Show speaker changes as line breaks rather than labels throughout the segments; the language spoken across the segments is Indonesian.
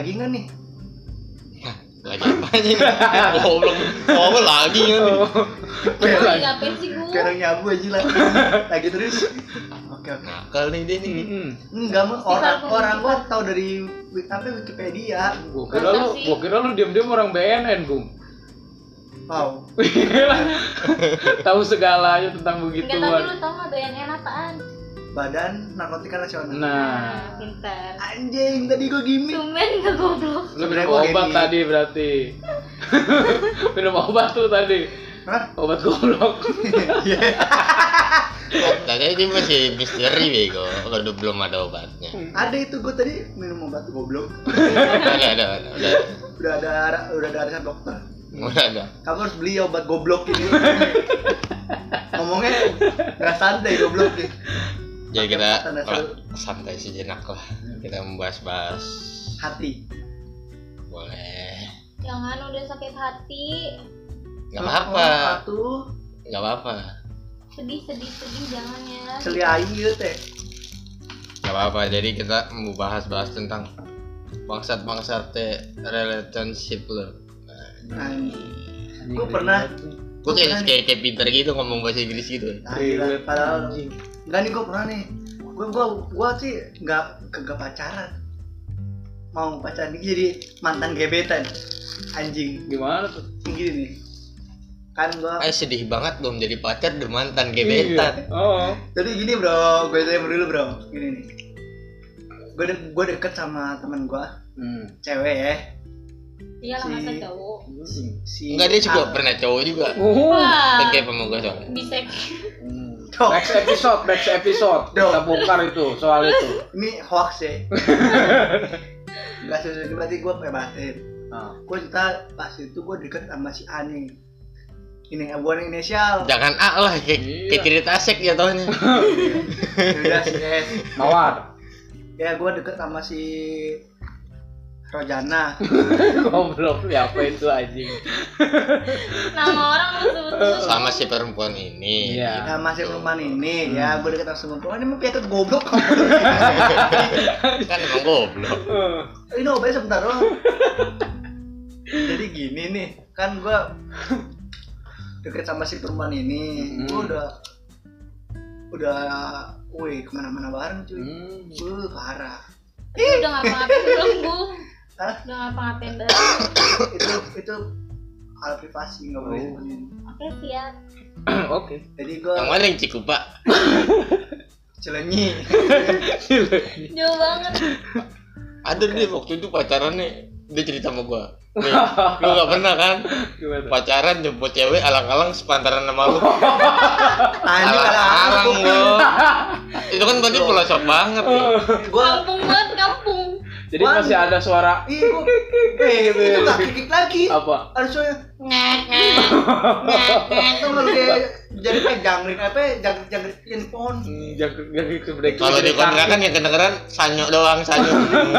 lagi nggak nih?
Lagi apa nih? Goblok lagi kan?
Lagi ngapain sih gue?
Kayak orang nyabu aja lagi terus. Oke.
Nakal nih dia nih.
Enggak mau orang gua tahu dari Wikipedia.
Gua kira lu diam-diam orang BNN, Bung.
Wow.
Tahu segalanya tentang
Enggak, tapi
begituan.
lu tau nggak BNN apaan?
Badan Narkotika Nasional.
Nah,
Pintar.
Anjing, tadi gua gimmick.
Tumben nggak goblok.
lu minum obat tadi berarti. Minum obat tuh tadi.
Hah?
Obat goblok.
Tadi dia masih misteri bego, kalau belum ada obatnya.
Ada itu gua tadi minum obat goblok.
Ada.
Udah ada arisan dokter.
Udah ada.
Kamu harus beli obat goblok ini. Ngomongnya nggak santai goblok nih.
Jadi kita santai sejenak lah. Kita membahas
hati.
Boleh.
Jangan udah sakit hati.
Gak apa-apa.
Tuh.
Gak apa-apa.
Sedih jangan ya.
Celia ayu teh.
Gak apa-apa. Jadi kita mau bahas tentang bangsat relationship lo.
Gue pernah.
Gue kayak pinter gitu ngomong bahasa Inggris gitu.
Padahal enggak nih, gue pernah nih. Gue sih kagak pacaran. Mau pacaran jadi mantan gebetan. Anjing.
Gimana tuh?
Gini nih. Kan gue
Sedih banget belum jadi pacar udah mantan gebetan.
Iya. Oh.
Jadi gini bro, gue tanya dulu bro. Gini nih. Gue deket sama temen gue, cewek ya.
Iya lah, masa cowok.
Enggak, dia juga pernah cowok juga.
Wah.
Kayak sama gue soalnya.
Bisa.
Next episode kita bongkar itu soal itu.
Ini hoax ya. Enggak sesuai, berarti gue bebasin. Gue cerita pas itu gue deket sama si Ani. Ini bukan inisial.
Jangan A lah, kayak cerita asik ya taunya.
Udah si S.
Mawar.
Ya gue deket sama si Rojana.
Goblok, siapa itu anjing?
Nama orang lu sebut.
Sama si perempuan ini.
Iya.
Nah masih perempuan ini, ya gue deket sama perempuan ini mau piatet goblok.
Kan emang goblok.
Ini obatnya sebentar doang. Jadi gini nih, kan gue deket sama si perempuan ini, gue udah, wih kemana-mana bareng cuy, parah.
Udah ngapa-ngapain belum, Bung?
Hah?
Udah ngapa-ngapain belum?
itu hal privasi nggak boleh sebutin.
Oke, siap.
Oke.
Jadi gue
Yang mana yang Cikupa?
Cilenyi.
Jauh banget.
Ada dia waktu itu pacarannya, dia cerita sama gue. Nih, lu gak pernah kan?
Gimana?
Pacaran jemput cewek alang-alang sepantaran sama lu.
Anjing
Alang-alang lu. Itu kan berarti pelosok banget nih.
Gue
Kampung banget, kampung.
Jadi masih ada suara.
itu nggak kikik lagi.
Apa?
Ada suara itu malu kayak jadi jangkrik jangkrik yang pohon.
Jangan
Kalau di kontrakan yang kedengeran sanyo doang, sanyo.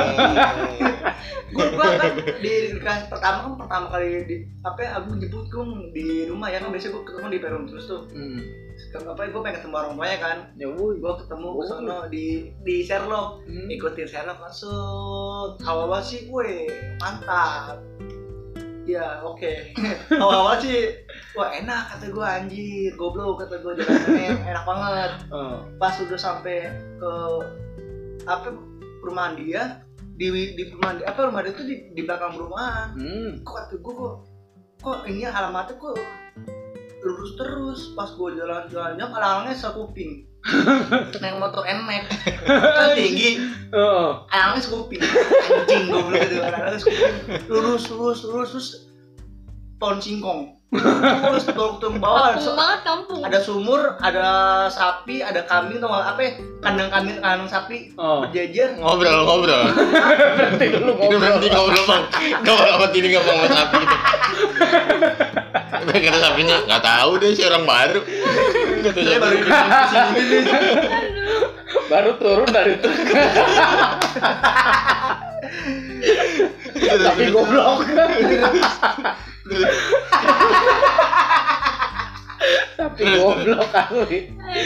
Gua kan di kelas pertama kali aku jemput di rumah ya kan, biasanya gua ketemu di peron terus tuh. Gua pengen ketemu orang tuanya kan. Ya gua ketemu ke sono di Sherlock. Ikutin Sherlock langsung. Awal sih gue mantap. Ya oke. Awal sih wah enak kata gue, anjir goblok kata gue, jalannya enak banget. Pas udah sampai ke perumahan dia, di perumahan rumah dia tuh di belakang perumahan. Kok kata gue kok ini alamatnya kok lurus terus. Pas gue jalan-jalan alangnya sekuping. Naik motor NMAX kan tinggi, alangnya sekuping. Anjing goblok itu, alangnya sekuping. Lurus terus pohon singkong. Terus turun bawah
Kampung.
ada sumur, ada sapi, ada kambing, atau apa? Kandang kambing, kandang sapi berjejer.
Ngobrol. Berhenti ngobrol bang. Ngobrol sama ini nggak mau sapi gitu. Kata sapinya nggak tahu deh, si orang baru.
Saya baru kesini.
Baru turun dari truk. Tapi goblok. Tapi goblok kali.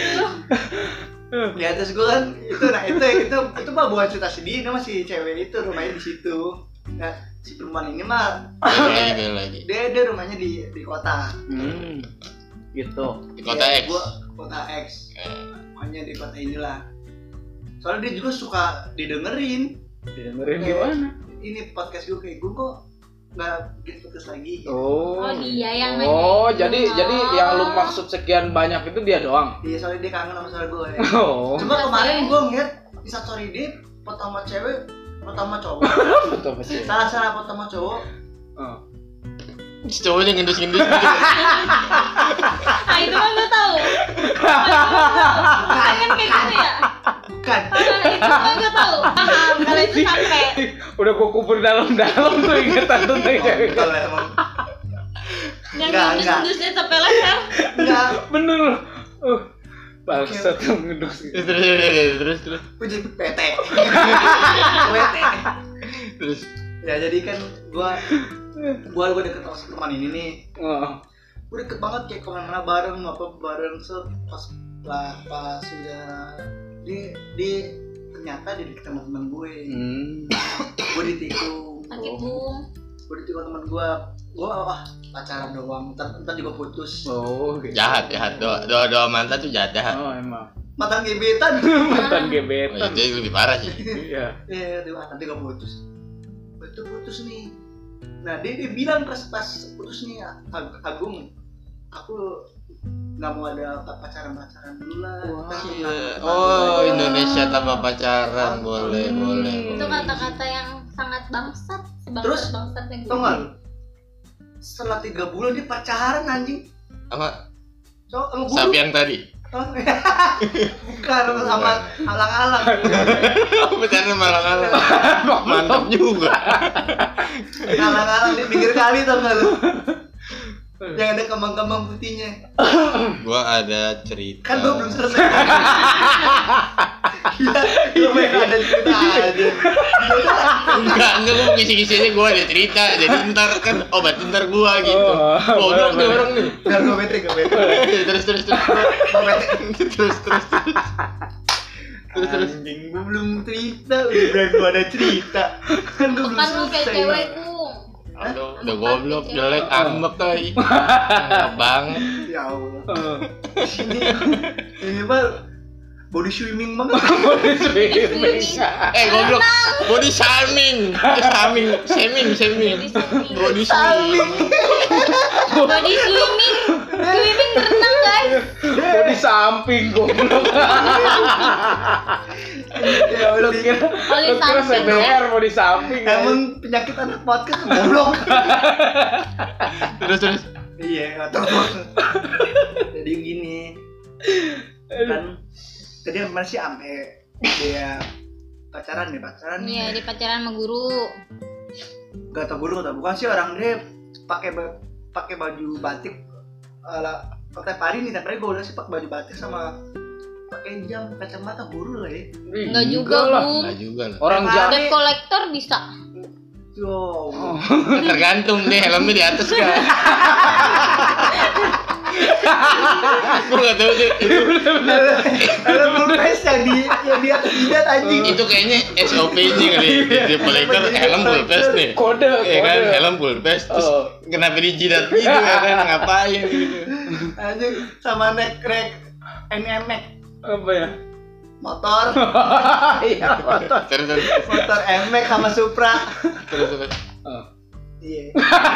Di atas gue kan itu mah bukan cerita sedih, nama si cewek itu rumahnya di situ. Nah, si perempuan ini mah
Beda lagi.
dia rumahnya di kota.
Gitu.
Di kota
Iya,
X.
Gua kota X. Makanya di kota inilah. Soalnya dia juga suka didengerin.
Didengerin gimana?
Ini podcast gue kayak gue kok nggak bikin podcast lagi. Gitu.
Oh
dia yang
Oh,
nanya.
jadi yang lu maksud sekian banyak itu dia doang.
Iya, soalnya dia kangen sama suara gue.
Oh.
Cuma kemarin gue ngeliat instastory dia foto sama cewek, foto sama cowok.
Betul betul.
Salah foto sama cowok.
Si cowoknya ngendus-ngendus gitu.
Ah itu kan gue tahu. Kan kayak gitu ya.
Bukan.
Itu kan gue tahu. Paham kalau itu sampai.
Udah gua kubur dalam-dalam tuh ingatan tentang cewek.
Betul ya, emang.
Yang
Enggak.
ngendus-ngendusnya sampai leher.
Enggak.
Bener. Bangsat tuh ngedus.
Terus.
Gue jadi PT. PT.
Terus.
Ya jadi kan gue deket sama teman ini nih. Gue deket banget kayak kemana-mana bareng, bareng pas udah dia ternyata dia deket sama teman gue. Gue ditikung. Gue ditikung teman gue pacaran doang, ntar juga putus.
Gitu.
Jahat. Doa mantan tuh jahat.
Oh emang.
Mantan gebetan.
Mantan gebetan.
Itu lebih parah sih.
Iya.
Dia nanti gak putus. Betul putus nih. Nah dia bilang pas putus nih, Agung, aku nggak mau ada pacaran dulu lah.
Oh, Indonesia tanpa pacaran, boleh.
Itu kata-kata yang sangat bangsat.
Terus,
bangsatnya
tau nggak? Setelah 3 bulan dia pacaran anjing.
Sama
Sama
sapi yang tadi.
Bukan, sama alang-alang.
Pacaran malang-alang. Mantap juga.
Alang-alang di pinggir kali tau nggak lu? Yang ada kembang-kembang putihnya.
Gua ada cerita.
Kan gua belum selesai. Gila, lu main ada cerita aja.
Enggak, gua kisi-kisinya gua ada cerita. Jadi ntar kan ntar gua gitu. Goblok nih orang nih.
Biar gua bete.
Terus.
Gua bete.
Terus.
Anjing, gua belum cerita, udah bilang gua ada cerita. Kan gua belum
Bukan lu kayak
selesai.
cewek Gung.
Aduh, udah goblok, jelek, ambek tai. Enak banget.
Ya Allah. Ini mah body swimming banget.
Goblok. Body shaming. Shaming. Body shaming.
Body swimming berenang guys.
Di samping goblok.
Ya Allah,
Lu kira CBR mau di samping.
emang penyakit anak podcast goblok.
Terus.
Iya, atau jadi gini. Kan tadi masih sampai dia pacaran nih.
Iya di pacaran sama guru.
Gak tau guru atau bukan sih, orang dia pakai baju batik tiap hari nih, tiap hari gue udah sih pakai baju batik sama pakai jam kacamata guru lah ya.
Enggak juga Gung.
Enggak juga lah.
Orang jam
Debt collector bisa.
Yo,
Tergantung deh helmnya di atas kan. Gue nggak tahu sih.
ada pulpes yang di atas jidat anjing.
Itu kayaknya SOP-nya kali. Di kolektor helm pulpes nih.
kode.
Ya kan helm pulpes terus kenapa di jidat gitu ya kan ngapain gitu.
Anjing sama neck NMAX
Apa ya?
motor.
Iya, motor.
Terus.
Motor NMAX sama Supra.
Terus.
Iya.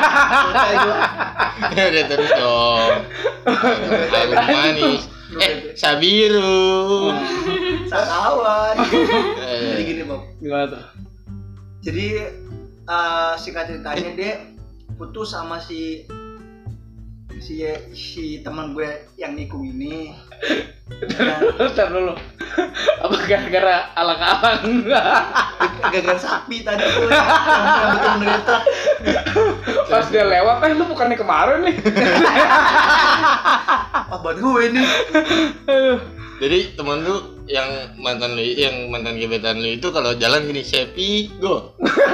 Ya udah terus dong. Air manis. Sabiru.
Sakawan. Jadi gini Bob.
Gimana tuh?
Jadi singkat ceritanya dia putus sama si teman gue yang nikung ini.
Bentar dulu. Apa gara-gara alang-alang?
Gagal sapi tadi tuh yang betul menderita.
Pas dia lewat, lu bukannya kemarin nih?
Buat gue ini.
Jadi temen lu yang mantan gebetan lu itu kalau jalan gini Sepi go.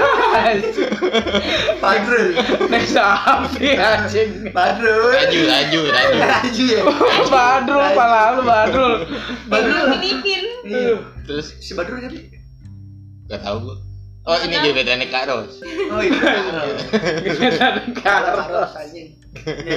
Badrul.
Naik sapi anjing.
Badrul.
Laju ya.
Badrul, pala lu Badrul.
Badrul Filipin.
Iya.
Terus
Si Badrul kan?
gak tau gua. Oh, ini gebetannya Kak Ros.
Oh iya.
Gebetan
Karos anjing. Ya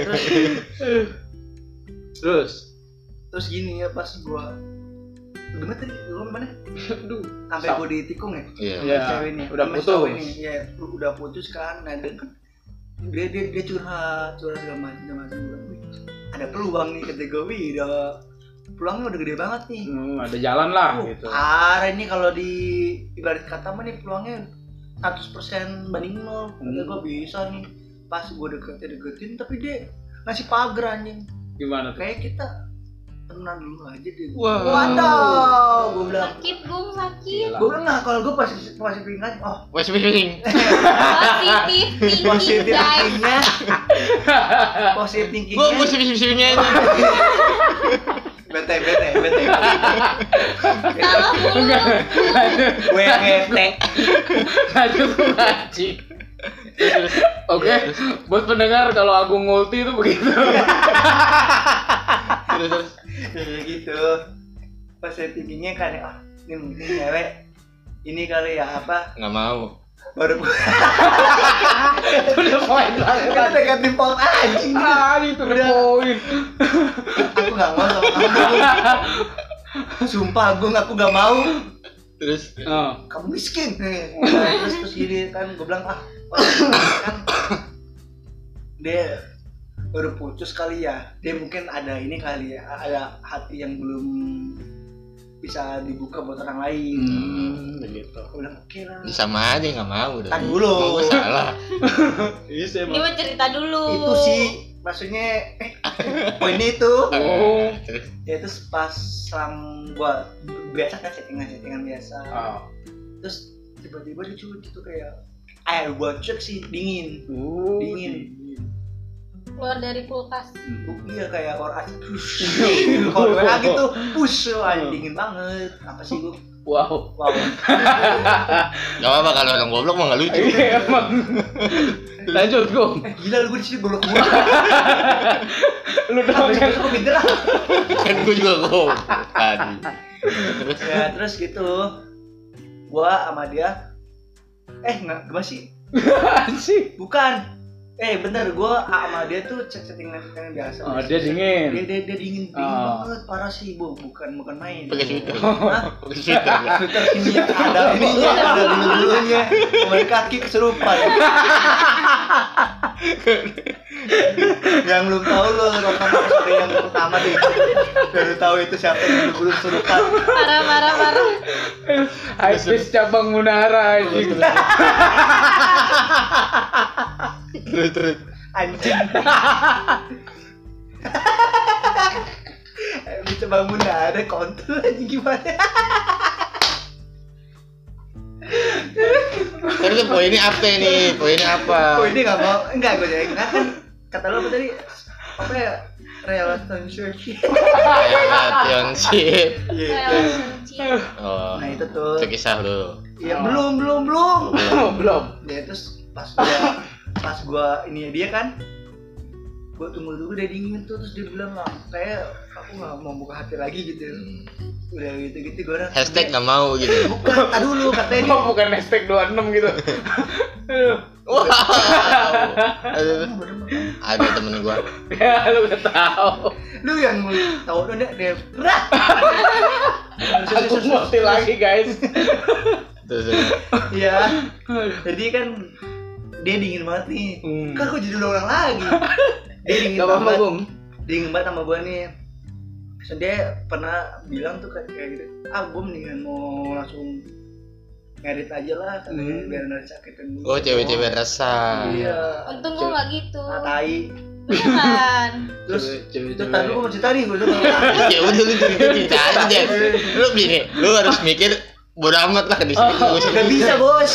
terus gini ya pas gua gimana tadi gua mana?
Aduh.
Sampai gua ditikung ya.
Iya.
Iya.
Cewek ini.
Udah
Sama
putus.
cewek ini. Iya, udah putus kan. Nah, dia kan dia curhat segala macam. Ada peluang nih kata gue, wih, peluangnya udah gede banget nih.
Ada jalan lah gitu.
Parah ini kalau di ibarat kata mah nih peluangnya 100% banding 0. Kata gue bisa nih. Pas gue deketin tapi dia ngasih pagar anjing.
Gimana tuh?
Kayak kita temenan dulu aja deh.
Wah.
Waduh, gue bilang.
Sakit Gung, sakit.
Gue bilang nah kalau gue masih pengen oh
Wes piring.
Positif thinking guys.
positif thinkingnya.
Gua positif-positifnya ini.
Bete.
Salah mulu.
Gue bete.
Lanjut ngaji. Oke, buat pendengar kalau Agung ngulti itu begitu.
Terus.
Kayak gitu. Positif thinkingnya kan ini mungkin cewek ini kali ya apa?
Nggak mau.
Baru
Udah poin banget.
kita negatif poin anjing.
Itu udah poin.
Aku nggak mau sama kamu. Sumpah Agung aku nggak mau.
Terus
Kamu miskin. Terus gini kan gue bilang kan dia baru putus kali ya. Dia mungkin ada ini kali ya. Ada hati yang belum bisa dibuka buat orang lain.
Begitu.
Aku bilang oke lah.
Sama aja nggak mau.
Tadi dulu.
Gua salah.
Iya
Ini mau cerita dulu.
Itu sih maksudnya poinnya itu.
Oh.
Terus.
Ya terus pas gua biasa kan chattingan biasa. Terus tiba-tiba dia cuy gitu kayak air buat cek sih dingin. Dingin.
Keluar dari kulkas.
Iya kayak orang asli kalau WA gitu push dingin banget. Apa sih gua?
Wow.
Gak apa-apa kalau orang goblok mah nggak lucu.
Iya emang. Lanjut Gong.
Gila lu gue di sini goblok mulu.
Lu dong kan.
Aku pinter lah.
Kan gua juga goblok tadi. Terus.
Ya terus gitu. Gua sama dia enggak gimana sih?
Sih.
Bukan. Bener, gue sama dia tuh chattingan biasa.
Oh, dia dingin.
Dia dingin banget, parah sih, Bu. Bukan main.
Pakai sweater.
Hah?
Pakai sweater.
Sweater ini ada ininya, ada bulu-bulunya. Kemarin kaki keserupan. Yang belum tahu lo nonton episode yang pertama deh. Baru tahu itu siapa yang bulu keserupan.
Parah.
Habis cabang Munara anjing.
Terus.
Anjing. Bisa bangun ada kontrol aja gimana?
Terus poinnya apa nih? Poinnya apa?
Oh ini nggak mau, enggak gue jadi kan kata lo apa tadi? Apa ya? Relationship.
Relationship.
Relationship.
Oh.
Nah itu tuh.
Itu kisah lu.
Iya belum.
Belum.
Ya terus pas gua ini dia kan, gua tunggu dia dingin tuh terus dia bilang nggak kayak aku nggak mau buka hati lagi gitu. Udah gitu gua udah.
Hashtag nggak mau gitu.
Bukan, tadi dulu katanya dia.
Bukan hashtag 26 gitu.
Wow. Ada temen gua.
Ya lu udah tahu.
Lu yang tahu udah dia.
Aku ngerti lagi guys.
Terus.
Iya. Jadi kan dia dingin banget nih. Kan aku jadi orang lagi. Dia dingin
Gak apa-apa,
banget.
Bung.
Dingin banget sama gua nih. So, dia pernah bilang tuh kayak gitu. Gua mendingan mau langsung ngedit aja lah katanya biar nggak sakitin gua.
Oh, cewek-cewek rasa.
Iya.
Untung gue nggak gitu.
Tai.
Beneran.
Terus
Cewek-cewek.
itu tadi gua mau cerita nih gua tuh.
Ya udah lu cerita aja. Lu gini, lu harus mikir bodo amat lah di sini.
Gak bisa bos.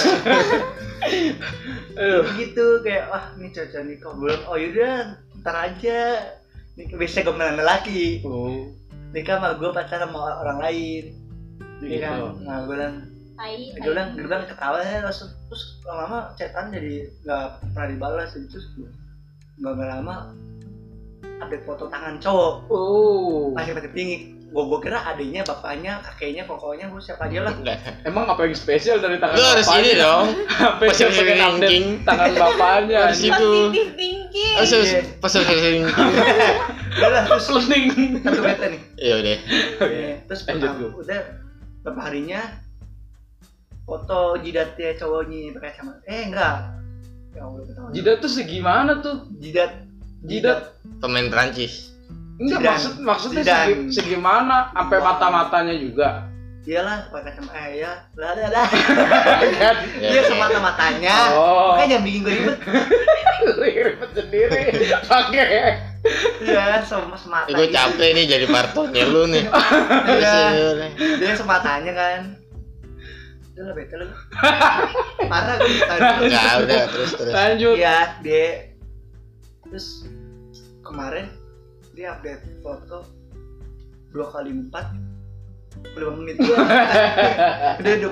Gitu kayak ini cocok nih kau bilang yaudah ntar aja. Biasanya gue menahan lelaki. Nikah sama gue pacaran sama orang lain. Iya kan? Nah gue bilang ketawa ya terus lama-lama chatan jadi gak pernah dibalas terus gak lama update foto tangan cowok. Masih tinggi. Gua kira adiknya, bapaknya, kakeknya, pokoknya gua siapa aja lah.
Emang apa yang spesial dari tangan
Lu harus ini dong.
Apa yang pengen update
ranking
tangan bapaknya?
Harus itu.
Positive thinking.
Pasal ranking.
Udah lah, terus
Learning.
satu bete nih.
Iya udah.
Terus
Lanjut,
udah beberapa harinya foto jidatnya cowoknya pakai kacamata. Enggak. Ya Allah, ketahuan.
Jidat tuh segimana tuh?
Jidat
Pemain Prancis.
Enggak
Zidane.
maksudnya
Zidane.
segimana? Sampai mata-matanya juga.
iyalah pakai kacamata ya. Lah.
Kan?
Dia semata-matanya.
Oh.
Makanya jangan bikin gue ribet.
Ribet sendiri. Pakai.
Iya, sama semata.
Gue capek nih jadi partonnya lu nih.
Iya. Dia sematanya kan. Udah lah bete lu. Parah gue bisa.
Enggak, udah terus.
Lanjut.
Iya, dia terus kemarin dia update foto 2x4 5 menit dia udah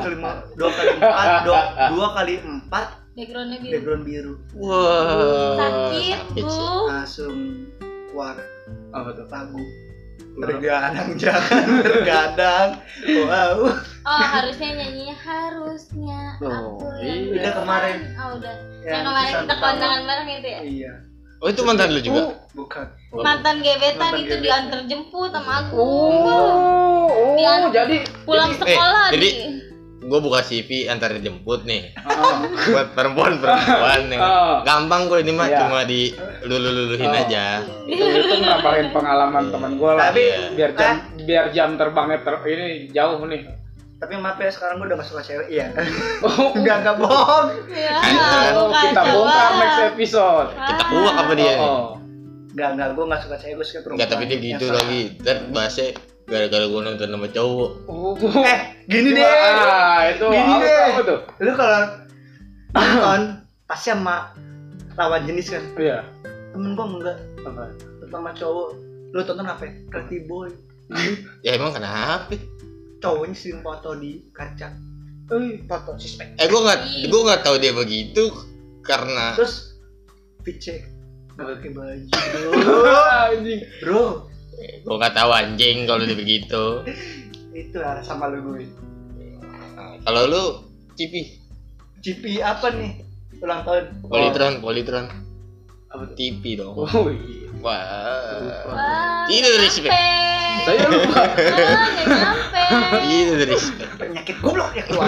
2x4
Backgroundnya biru.
background biru
Wah.
Sakit, Bu.
langsung keluar
Apa tuh?
lagu bergadang jangan bergadang. Wow.
Oh, harusnya nyanyinya harusnya
Oh,
aku
iya.
yang
Udah kemarin.
Oh, udah.
Yang
Yang kemarin
pesan
kita
pertama.
kondangan bareng itu ya?
Iya,
Oh itu mantan lu juga?
bukan.
Mantan gebetan
Mantan
itu
gebetan.
diantar jemput sama aku.
Oh,
Dian-
jadi
Pulang sekolah
jadi-
di.
Gue buka CV antar jemput nih.
Ah.
Buat perempuan yang
Oh.
gampang kok ini mah
Iya.
cuma di luluhin
Oh.
aja.
itu nambahin pengalaman teman gue lah.
Tapi
biar jam terbangnya ini jauh nih.
tapi maaf ya sekarang gue udah gak suka cewek. Iya.
Oh,
Enggak bohong.
Ya,
Kan,
bukan
kita bongkar
coba.
next episode.
Kita buak apa dia nih?
Oh.
Enggak, gue gak suka cewek, gue suka perempuan.
Enggak, tapi dia gitu lagi. Ntar bahasnya gara-gara gue nonton sama cowok.
Oh.
Gini deh.
Itu
Gini deh.
apa tuh?
Lu kalau nonton pasti sama lawan jenis kan.
Iya.
Temen gue enggak,
Apa?
sama cowok. Lu tonton apa? Pretty Boy.
Ya emang kenapa?
Cowoknya sering foto di kaca. Foto suspek.
Gue nggak tahu dia begitu karena
Terus Vice nggak pakai baju
Anjing.
bro.
gue nggak tahu anjing kalau dia begitu.
Itu arah sama lu gue.
Nah, kalau lu Cipi,
GP apa nih? Ulang tahun.
Politron.
Apa tuh?
TV dong.
Oh iya.
Wah.
Wah,
Ini dari respect.
Saya lupa.
Nggak nyampe.
Itu dari respect.
Penyakit goblok ya keluar.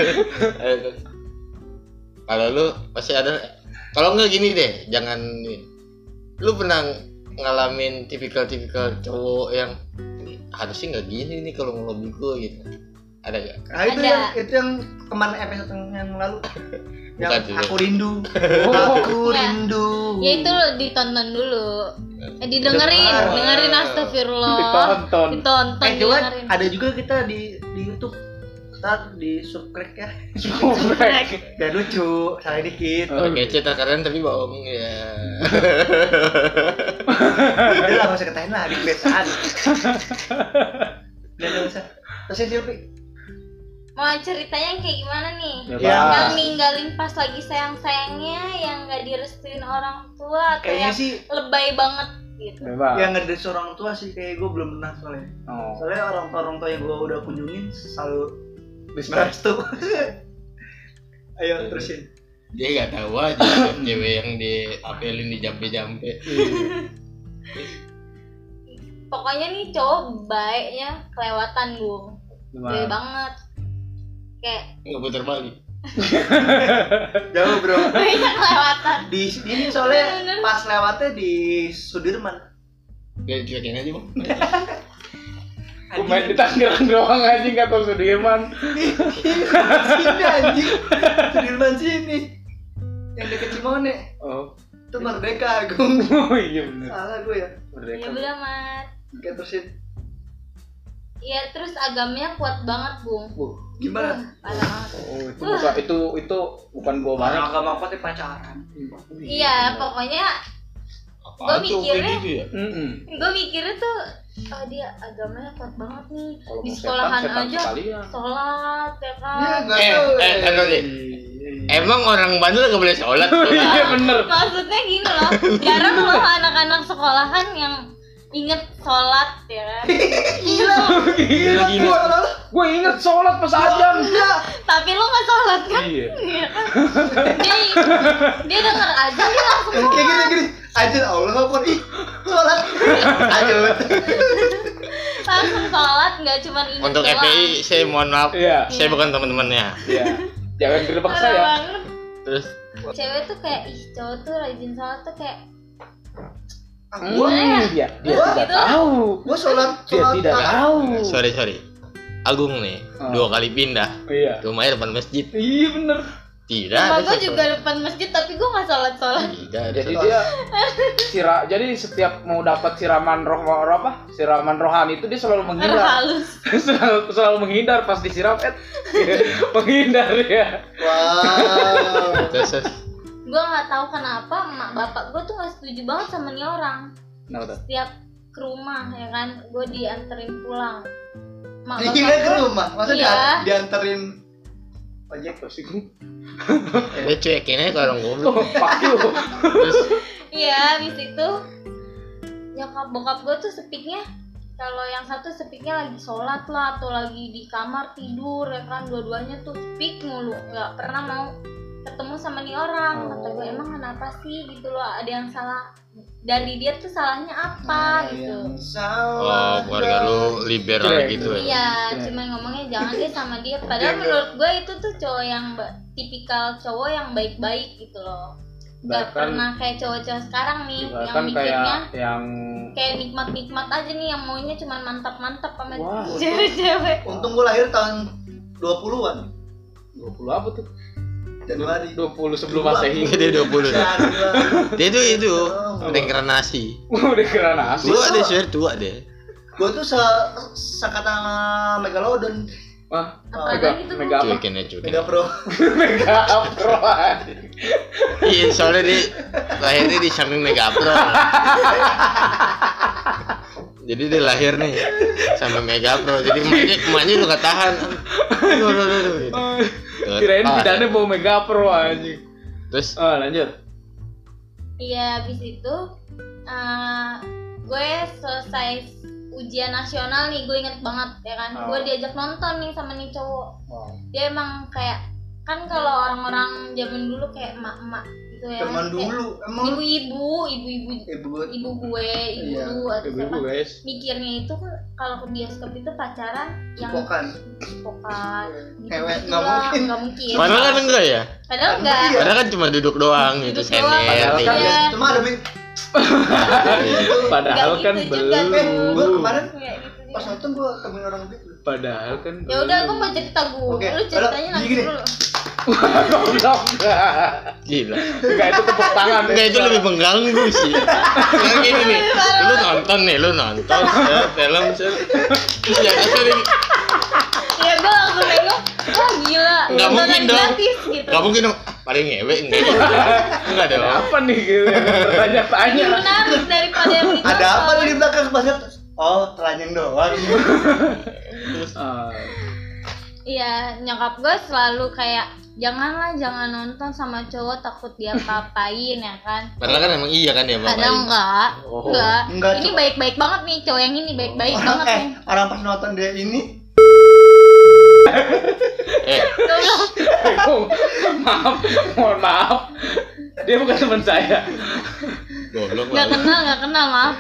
Kalau lu pasti ada. Kalau enggak gini deh, jangan nih. Lu pernah ngalamin tipikal cowok yang harusnya nggak gini nih kalau ngelobi gue gitu. Ada gak?
Nah itu yang kemana episode yang lalu? Yang
Bukan juga.
aku rindu.
Enggak.
Rindu.
Ya itu lo ditonton dulu. Dengerin astagfirullah.
Ditonton.
Ditonton,
Coba
dengerin.
ada juga kita di YouTube. Ntar di subscribe ya.
Subrek.
Biar lucu, salah dikit.
Oh,
Kece tak keren tapi bohong ya.
Udah lah, gak usah ketahin lah, di kebiasaan. Udah gak usah. Terus ya Silvi.
Mau ceritanya yang kayak gimana nih?
Ya,
Ya.
Bang.
Yang ninggalin pas lagi sayang-sayangnya, yang gak direstuin orang tua, atau
Kayaknya
yang
sih
lebay banget gitu.
Bebas.
yang ngedres orang tua sih kayak gue belum pernah soalnya.
Oh.
Soalnya orang tua yang gue udah kunjungin selalu
Respect.
merestu. Ayo terusin.
Dia nggak tahu aja cewek yang diapelin di jampe-jampe.
Pokoknya nih cowok baiknya kelewatan Bung. Baik banget. Kayak
Nggak putar balik.
Jauh bro.
baiknya kelewatan.
Di ini soalnya
Bener.
pas lewatnya di Sudirman.
Gak cuekin aja bang.
Gue main di Tangerang doang anjing gak tau Sudirman.
Sini anjing. Sudirman sini. Yang deket Cimone.
Oh.
Itu Merdeka Agung.
Oh iya bener.
Salah gue ya.
Ya udah mat.
Oke terusin.
Iya terus agamanya kuat banget Bung.
Gimana?
Parah banget.
Oh itu bukan gua banget.
Agama apa sih pacaran?
Iya pokoknya
Apaan tuh
mikirnya-
kayak gitu ya?
gue mikirnya tuh oh dia agamanya kuat banget nih.
Kalau
Di
mau
sekolahan
setan
aja
sekalian.
sholat ya
Ya
kan.
enggak tahu.
Taruh deh. Emang orang Bandung nggak boleh sholat?
Iya bener.
Maksudnya gini loh, jarang loh anak-anak sekolahan yang inget sholat ya kan.
Gila. Gue inget sholat pas azan.
Tapi lu nggak sholat kan?
Iya.
Iya kan? Dia denger azan dia langsung
Kayak gini. Azan Allah Akbar. Ih, sholat. Ayo.
langsung sholat, nggak cuma inget
Untuk
doang.
FPI saya mohon maaf.
Iya.
Saya bukan teman-temannya.
Iya. Jangan gerbek
Parah
saya.
banget.
Terus
Cewek tuh kayak cowok tuh rajin sholat tuh kayak
Dia tidak
gitu.
tahu.
Gua sholat
Dia tidak tahu.
sorry. Agung nih, 2 kali pindah.
Iya.
Rumahnya depan masjid.
Iya bener.
Tidak
rumah
ada
gue
sholat.
juga depan masjid tapi gue nggak sholat.
Tidak ada
Jadi
sholat.
dia jadi setiap mau dapat siraman siraman rohani itu dia selalu menghindar.
Halus.
selalu menghindar pas disiram menghindar ya.
Wow.
Terus
Gue nggak tahu kenapa emak bapak gue tuh nggak setuju banget sama nih orang.
Kenapa tuh?
Setiap ke rumah ya kan, gue dianterin pulang. Mak
Dikirim ke rumah, maksudnya
Iya.
dianterin ojek.
dia cuekin aja kalau orang goblok.
Oh, fuck you.
Terus
Iya, habis itu nyokap bokap gue tuh sepiknya kalau yang satu sepiknya lagi sholat lah atau lagi di kamar tidur ya kan, dua-duanya tuh speak mulu, nggak pernah mau ketemu sama nih orang. Kata gue emang kenapa sih gitu loh, ada yang salah dari dia tuh salahnya apa gitu.
oh, keluarga lu liberal gitu ya.
Iya, cuma ngomongnya jangan deh sama dia. Padahal menurut gue itu tuh cowok yang tipikal cowok yang baik-baik gitu loh. Gak
Bahkan-
pernah kayak cowok-cowok sekarang nih yang
Bahkan
mikirnya
yang
kayak nikmat-nikmat aja nih, yang maunya cuma mantap-mantap sama
Wah.
cewek-cewek.
Untung gua lahir tahun 20-an
20 apa tuh?
Januari.
20 sebelum Masehi.
Dia 20.
Januari.
Dia itu reinkarnasi.
Udah kira nasi.
Tua deh, swear tua deh.
Gua tuh sekata Megalodon.
Wah,
Apaan gitu,
mega apa?
Cuekin aja.
Mega Pro.
Mega Pro.
Iya, soalnya dia lahirnya di samping Mega Pro. Jadi dia lahir nih samping Mega Pro. Jadi emaknya udah gak tahan. Aduh.
Kirain bidannya bawa Mega Pro anjing.
Terus
Lanjut.
Iya, habis itu gue selesai ujian nasional nih, gue inget banget ya kan.
Oh.
Gue diajak nonton nih sama nih cowok.
Wow.
Dia emang kayak kan kalau orang-orang zaman dulu kayak emak-emak gitu ya.
Teman
Kayak
dulu emang
ibu-ibu
ibu
gue,
Iya,
ibu atau
Ibu-ibu
siapa.
guys.
Mikirnya itu kan kalau ke bioskop itu pacaran yang
cipokan.
cipokan
Cewek,
gitu
nggak mungkin.
nggak mungkin.
padahal kan enggak ya?
Padahal enggak.
Iya.
Padahal kan cuma duduk doang gitu,
Duduk doang.
sender.
Padahal kan
Iya.
Cuma ada
Padahal
Nggak
kan
gitu juga,
belum.
gua kemarin
Kayak gitu juga.
pas nonton gua temuin orang gitu.
Padahal kan
Ya udah, gue mau cerita gue.
Oke,
Lu ceritanya
udah,
nanti
gini.
dulu.
Goblok.
Gila.
Enggak, itu tepuk tangan.
Enggak, itu lebih mengganggu sih. Kayak gini nih. Lu nonton film terus ya tadi
Ya gue langsung nengok, wah gila.
Nggak
nontonan
mungkin dong.
gratis gitu.
enggak mungkin dong. Paling ngewe enggak dong.
Apa nih gitu? Bertanya-tanya.
Lebih menarik daripada yang ditonton.
Ada apa tuh di belakang pas lihat? Oh, telanjang doang.
Iya, nyokap gue selalu kayak jangan nonton sama cowok, takut dia papain ya kan.
Padahal kan emang iya kan ya Bapak.
Ada enggak?
Oh.
Enggak,
Ini
cuma-
baik-baik banget nih, cowok yang ini baik-baik banget nih.
Orang pas nonton dia ini
Tolong.
Mohon maaf. Dia bukan teman saya.
Goblok
Nggak
banget.
kenal maaf.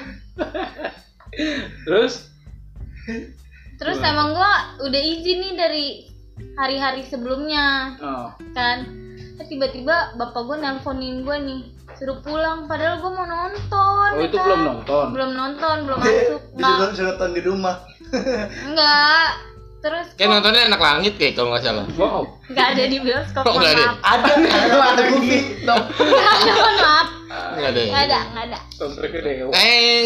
Terus
Emang gue udah izin nih dari hari-hari sebelumnya kan. Tiba-tiba bapak gue nelponin gue nih, suruh pulang, padahal gue mau nonton.
Oh,
ya
itu
kan?
belum nonton.
Belum masuk.
disuruh nonton di rumah.
Enggak. Terus
Kayak nontonnya Anak Langit kayak kalau nggak salah.
Wow.
enggak ada di bioskop.
Oh, nggak ada?
maaf.
Ada movie.
Enggak ada, mohon maaf.
Enggak ada.
Enggak ada.
Soundtracknya Dewa.
Teng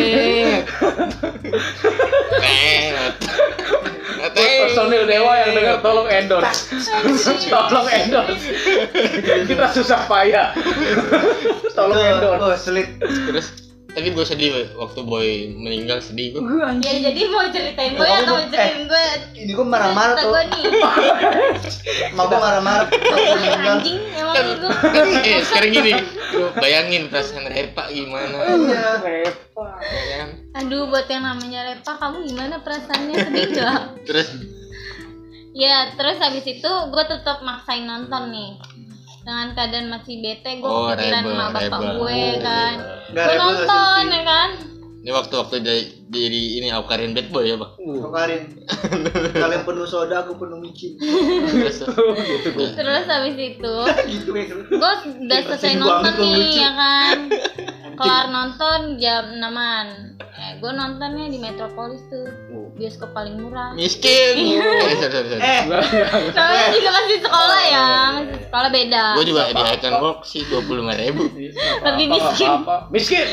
net.
Personil Dewa yang dengar tolong endorse. Tolong endorse. Kita susah payah. Tolong endorse.
Oh, selit.
Terus Tapi gue sedih waktu Boy meninggal, sedih gue.
Ya jadi mau ceritain gue atau mau ceritain gue?
Ini gue marah-marah tuh.
Gue nih.
Mau gue marah-marah
Anjing emang itu.
Sekarang gini, lu bayangin perasaan Repa gimana.
Iya.
Repa.
Ya kan?
Aduh, buat yang namanya Repa, kamu gimana perasaannya, sedih gak?
Terus
Ya, terus habis itu gue tetap maksain nonton nih. Dengan keadaan masih bete, gue
Oh,
kepikiran
rebel,
sama bapak
rebel.
gue kan.
Nggak,
Gue
rebel
nonton
nggak
ya kan.
ini waktu jadi ini Aukarin Bad Boy ya, Pak.
Kemarin kalian penuh soda, aku penuh micin.
Terus
Terus habis itu
Gitu ya.
gue udah selesai
Kasian
nonton
banget lo,
nih
lucu.
ya kan. Kelar nonton jam 6-an. Gue nontonnya di Metropolis tuh, bioskop paling murah.
miskin. Sorry.
Namanya juga masih sekolah ya, masih sekolah beda.
Gue juga di Icon Walk sih 25.000.
Lebih miskin.
Miskin.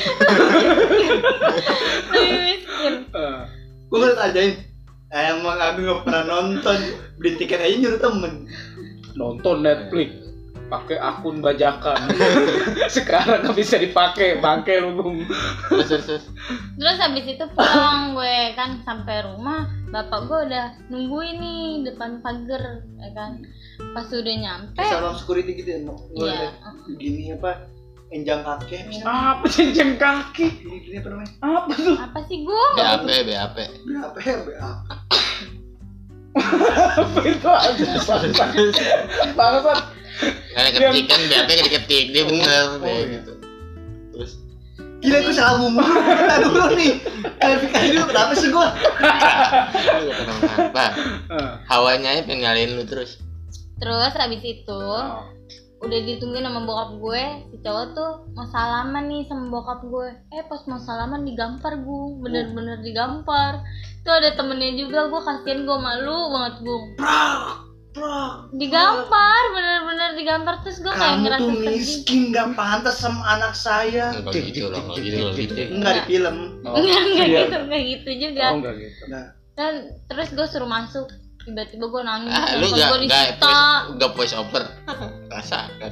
Lebih miskin.
Gue ngeliat ajain. Emang aku gak pernah nonton. Beli tiket aja nyuruh temen.
Nonton Netflix pakai akun bajakan. Sekarang nggak bisa dipakai, bangke lu.
Terus habis itu pulang gue kan, sampai rumah bapak gue udah nungguin nih depan pagar ya kan. Pas udah nyampe
Salam security gitu ya.
iya,
Gini apa? Enjang kaki.
Apa cincin kaki?
Gini apa namanya?
Apa tuh?
apa sih gue?
BAP.
Berapa ya?
Apa itu aja? Bangsat.
Karena ketik kan BAP kan diketik dia bener deh gitu. Terus
Gila, gue salah ngomong. Kita dulu nih. Klarifikasi dulu, kenapa sih gue?
lu gak kenapa. Hawanya aja pengen nyalain lu terus.
Terus habis itu udah ditungguin sama bokap gue, si cowok tuh mau salaman nih sama bokap gue. Pas mau salaman digampar gue, bener-bener digampar. Tuh ada temennya juga, gue kasihan, gue malu banget gue. Digampar, bener-bener digampar. Terus gue kayak
Kamu
ngerasa
tuh
sedih.
miskin, gak pantas sama anak saya.
Enggak gitu lah, enggak gitu.
Enggak di film.
Enggak gitu juga.
Oh, enggak gitu.
Nah,
Dan terus gue suruh masuk, tiba-tiba gue nangis,
Lu
handphone gue disita.
enggak voice over. Rasakan.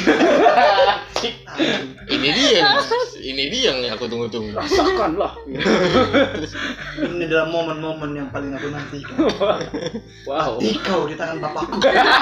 Ini dia yang aku tunggu-tunggu.
Rasakan lah.
ini adalah momen-momen yang paling aku nantikan.
Wow.
Mati kau di tangan bapakku.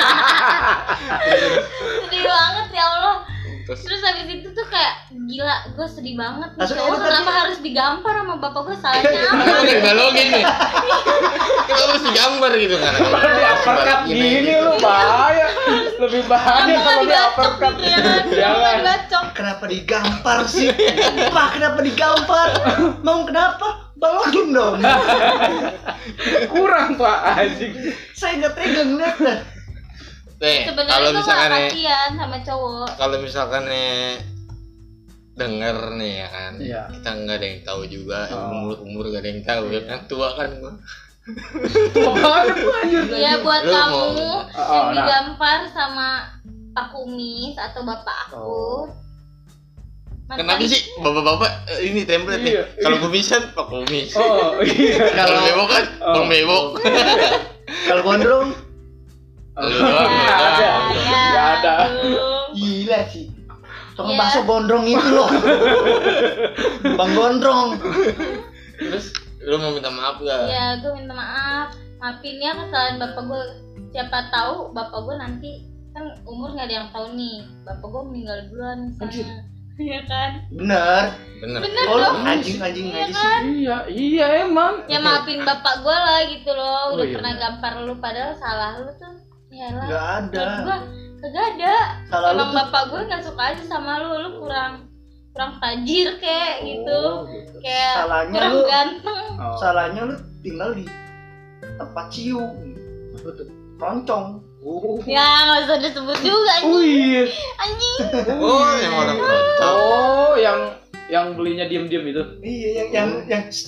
Sedih banget ya Allah.
Terus
Terus habis itu tuh kayak gila, gue sedih banget nih.
Langsung
Cowok
edit
kenapa
aja.
harus digampar sama bapak gue, salahnya apa?
Lu udah dibalogin nih. Kenapa harus digambar gitu kan?
Kalau di uppercut gini lu bahaya. Lebih bahaya kalau di uppercut.
gitu ya kan.
Jangan.
Bacok.
Kenapa digampar sih? Pak, kenapa digampar? Mau kenapa? Balogin dong.
Kurang Pak anjing.
Saya nggak tega ngeliatnya.
Sebenarnya
kalau
gue gak
misalkan
kasihan sama cowok.
kalau misalkan denger nih ya kan,
Iya.
kita nggak ada yang tahu juga,
Oh.
umur gak ada yang tahu ya kan, tua kan gua.
Tua banget lu anjir.
Ya buat
Lu
kamu
mau-
yang
nah.
digampar sama Pak Kumis atau bapak aku.
Kenapa sih bapak-bapak ini template
Iya.
nih? Kalau kumisan Pak Kumis.
Oh iya.
Kalau bebok kan Bang Bebok.
Kalau gondrong,
Lu doang.
Nggak ada. Nggak ada.
gila sih. Tukang
Iya.
bakso gondrong itu loh. Bang gondrong.
Terus lu mau minta maaf gak?
Ya gue minta maaf, maafin ya kesalahan bapak gue. Siapa tahu bapak gue nanti kan umur nggak ada yang tahu nih, bapak gue meninggal duluan misalnya. Iya kan?
Bener.
Bener.
Bener
Oh,
dong.
anjing
Iya
aja sih.
kan?
Iya emang.
Ya maafin bapak gue lah gitu loh. Udah
Oh, iya,
pernah
bener.
gampar lu padahal salah lu tuh. Ya lah.
Nggak ada.
Menurut gue kagak ada.
Salah lu
Emang
tuh.
bapak gue nggak suka aja sama lu kurang tajir kayak gitu.
Oh, gitu.
Kayak
Salahnya
kurang
lu-
ganteng.
Oh.
Salahnya lu tinggal di tempat cium. Roncong.
Oh.
Ya nggak usah disebut juga
Oh
anjing.
iya.
Anjing.
Oh, yang orang kocok.
Oh, yang belinya diem-diem itu.
Iya, yang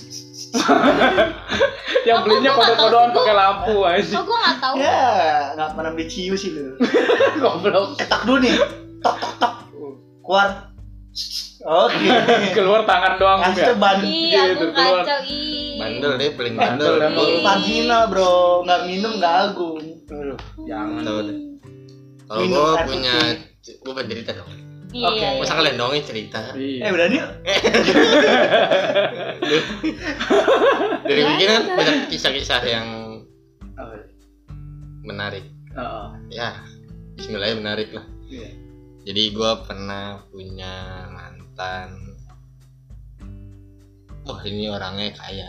Yang
Aku
belinya
nggak tahu
kode-kodean
sih,
pakai lampu anjing.
Oh gue nggak tahu.
ya nggak pernah beli cium sih lu.
Goblok.
Ketak dulu nih. Tok tok tok. Keluar. Oke.
Keluar tangan doang
Kasih
ya.
ban.
Iya,
Gitu,
aku
keluar.
kacau ih.
Bandel deh, paling
Bandel
bandel.
emang.
Ih.
Marginal bro, nggak minum nggak agung.
Aduh, jangan.
Tahu deh. Kalau
Minum
gua
air
punya,
putih.
gua bercerita dong.
Iya.
Masa kalian dongeng cerita?
Udah nih.
Dari begini kan banyak kisah-kisah yang menarik. Ya, bismillah menarik lah. Jadi gue pernah punya mantan. Wah, ini orangnya kaya.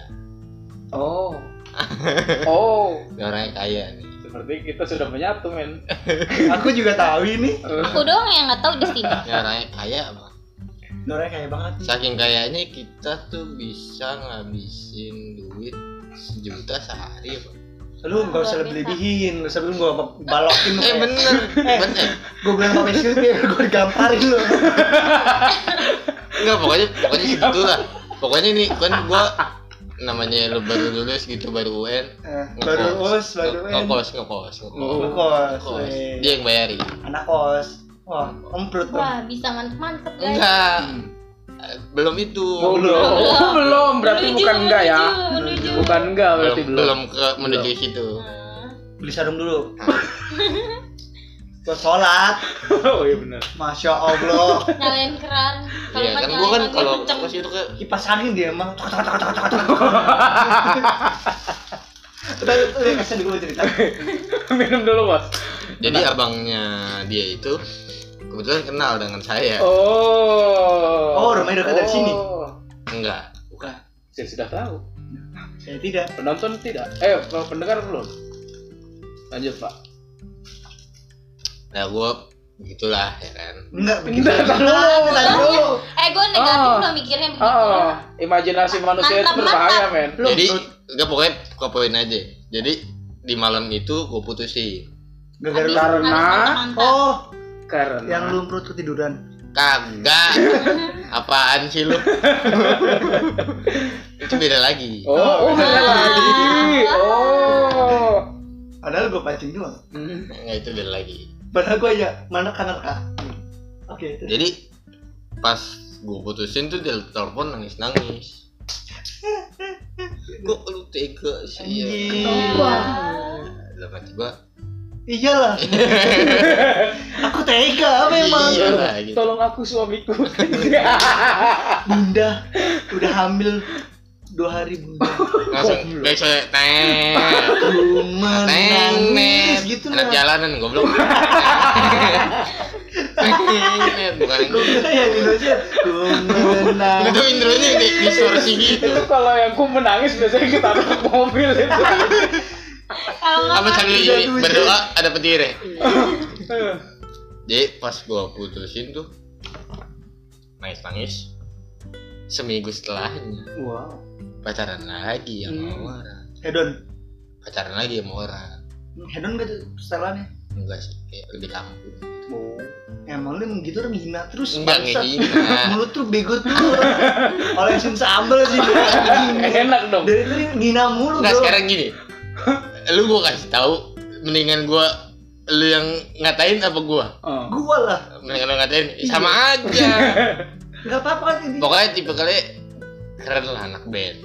Ini orangnya kaya nih.
Seperti kita sudah menyatu, men.
Aku juga tahu ini.
Aku doang yang nggak tahu di sini.
Ini orangnya kaya bang.
Orangnya kaya banget.
Saking kayanya kita tuh bisa ngabisin duit 1 juta sehari bang.
Lu nggak usah lebih-lebihin, lu sebelum gua balokin lu.
Bener.
Gua bilang apa sih biar gua digamparin lu.
Enggak, pokoknya segitulah. Pokoknya nih kan gua namanya lu baru lulus gitu, baru UN.
Baru UN.
Ngekos. Dia yang bayarin.
Anak kos. Wah, omprut tuh.
Wah, bisa mantep-mantep guys.
Enggak. Belum itu.
Belum. Berarti bukan enggak ya? Bukan enggak berarti
belum ke menuju situ.
Beli sarung dulu. Gua sholat.
Oh iya benar.
Masya Allah.
Nyalain keran.
Iya kan gua kan kalau ke situ ke
kipas angin dia emang. Udah kasih dulu cerita.
Minum dulu, Bos.
Jadi abangnya dia itu kebetulan kenal dengan saya.
Oh, rumahnya dekat dari sini.
Enggak.
Bukan.
Saya sudah tahu.
Saya tidak.
Penonton tidak. Pendengar belum. Lanjut, Pak.
Nah, gue begitulah ya kan.
Enggak begitu.
Gue negatif lo mikirnya begitu.
Imajinasi manusia itu berbahaya, men.
Jadi enggak, pokoknya ke poin aja. Jadi di malam itu gue putusin.
Karena
karena
yang belum perut ketiduran.
Kagak. Apaan sih lu? Itu beda lagi.
Beda lagi.
Padahal gue pancing doang.
Enggak, itu beda lagi.
Padahal gue aja mana kanan kah. Oke.
Jadi pas gue putusin tuh dia telepon nangis. Kok lu tega sih ya?
Kenapa?
Dalam hati gue,
iyalah. Aku tega memang.
Iyalah gitu.
Tolong aku suamiku.
Bunda udah hamil 2 hari bunda.
Langsung besok
menangis gitu
anak jalanan goblok. Bukan
gue kira yang Indonesia menangis.
itu intronya distorsi gitu.
Itu kalau yang ku menangis biasanya kita taruh mobil itu.
Apa sambil berdoa ada petir ya? Jadi pas gua putusin tuh nangis seminggu setelahnya.
Wow.
Pacaran lagi sama orang.
Hedon.
Pacaran lagi sama orang.
Hedon gak tuh setelannya?
Enggak sih, kayak lebih kampung.
Emang lu gitu orang menghina terus.
Enggak ngehina.
Mulut tuh bego tuh. Olesin sambal sih.
Enak dong.
Dari tadi menghina mulu.
Enggak, sekarang gini. Lu gua kasih tahu, mendingan gua lu yang ngatain apa gua?
Gua lah.
Mendingan lu ngatain sama aja.
Enggak apa-apa kan ini.
Pokoknya tipe kali keren lah anak band.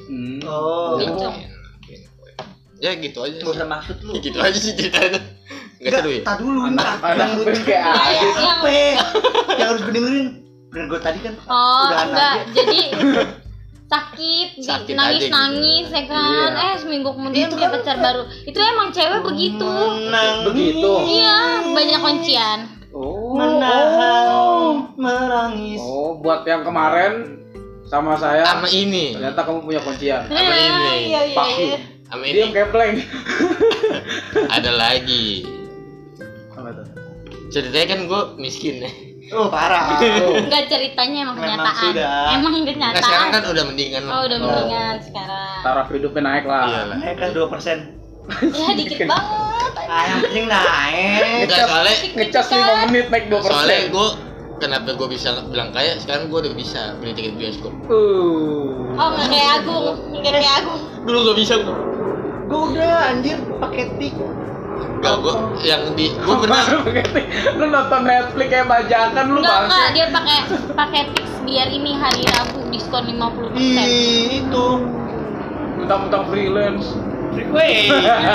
Ya gitu aja.
Gak usah maksud lu.
Gitu aja sih ceritanya. Enggak seru ya?
Tak dulu
Anak band kayak
apa? Yang harus gue dengerin. Bener gue tadi kan udah
enggak.
anak.
Jadi sakit nangis ya kan. Seminggu kemudian
Itu
punya
kan
pacar baru. Itu emang cewek begitu.
begitu.
Iya, banyak kuncian.
Menahan merangis.
Buat yang kemarin sama saya.
Sama ini.
Ternyata kamu punya kuncian.
Sama ini.
Iya.
Sama
Dia
ini.
kepleng.
Ada lagi.
Apa tuh?
Ceritanya kan gue miskin ya.
Oh parah.
Enggak, ceritanya emang
Memang
kenyataan.
sudah.
Emang
Nah
kenyataan.
sekarang kan udah mendingan.
Udah mendingan sekarang.
Taraf hidupnya naik lah.
Iyalah.
Naik kan 2%.
Ya dikit banget.
Yang penting naik.
Enggak, soalnya
Ngecas 5 menit naik 2%.
soalnya gue kenapa gue bisa bilang kaya, sekarang gue udah bisa beli tiket bioskop.
Nggak kayak Agung.
Dulu gak bisa gue.
Gue udah anjir pakai tik.
Gak, gue yang di gue pernah.
Lu nonton Netflix kayak bajakan lu
Enggak,
bangsa.
dia pakai Pix biar ini hari Rabu diskon 50%.
Itu
Mentang-mentang freelance.
freeway.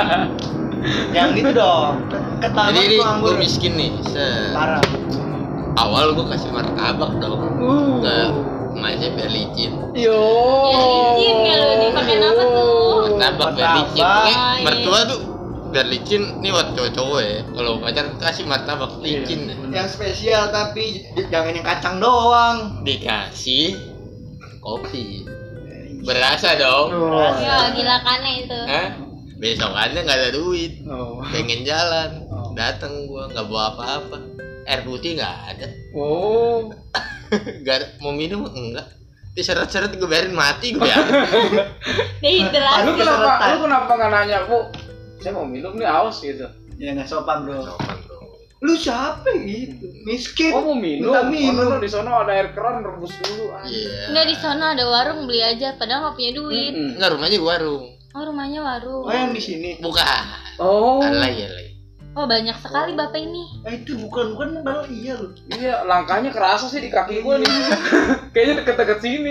Yang gitu dong. Ketahuan
Jadi
tuh anggur.
gue miskin nih.
Parah.
awal gue kasih martabak dong ke emaknya biar licin.
Yo.
Ya licin ya lu dipakai apa tuh?
Martabak biar licin.
Martabak.
Pokoknya mertua tuh biar licin nih buat cowok-cowok ya. Kalau pacar kasih martabak licin.
Yang spesial tapi jangan yang kacang doang.
Dikasih kopi. Berasa dong.
Ya gila kannya itu.
Hah? Besokannya nggak ada duit.
Oh.
Pengen jalan. Datang gua nggak bawa apa-apa. Air putih nggak ada.
Oh.
Gak ada. Mau minum enggak. Diseret-seret gue biarin mati gue ya.
Dehidrasi.
Lu kenapa nggak nanya, Bu? Saya mau minum nih, aus gitu.
Ya nggak sopan bro.
Sopan bro.
Lu siapa gitu? Miskin.
Oh mau minum?
Minta minum.
Oh, di sono ada air keran, rebus dulu.
Iya.
Enggak di sana ada warung beli aja padahal nggak punya duit.
Enggak, rumahnya warung.
Oh rumahnya warung.
Oh yang di sini.
Bukan.
Oh.
Alay.
Oh banyak sekali bapak ini.
Itu bukan padahal iya loh.
Iya, langkahnya kerasa sih di kaki gua nih. Kayaknya deket-deket sini.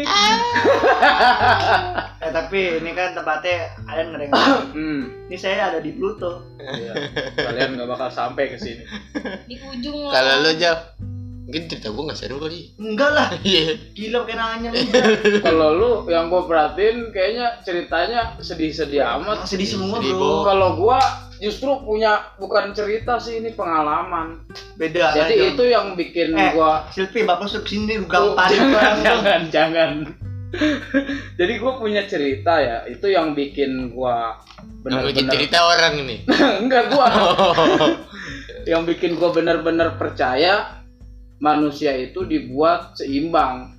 Tapi ini kan tempatnya kalian ngering. Ini saya ada di Pluto.
Iya. Kalian nggak bakal sampai ke sini.
Di ujung
Kalau lo Jaf, mungkin cerita gue nggak seru kali.
Enggak lah.
Iya.
Gila pakai nanya lu.
Kalau lu yang gua perhatiin kayaknya ceritanya sedih-sedih amat.
Sedih semua
Sedih,
bro.
Kalau gua justru punya bukan cerita sih, ini pengalaman.
Beda.
Jadi
John.
itu yang bikin gua
Silvi bapak suruh sini lu gamparin
jangan. Jadi gua punya cerita ya, itu yang bikin gua
Bikin
benar-benar
cerita orang ini.
enggak gua. Yang bikin gua benar-benar percaya manusia itu dibuat seimbang.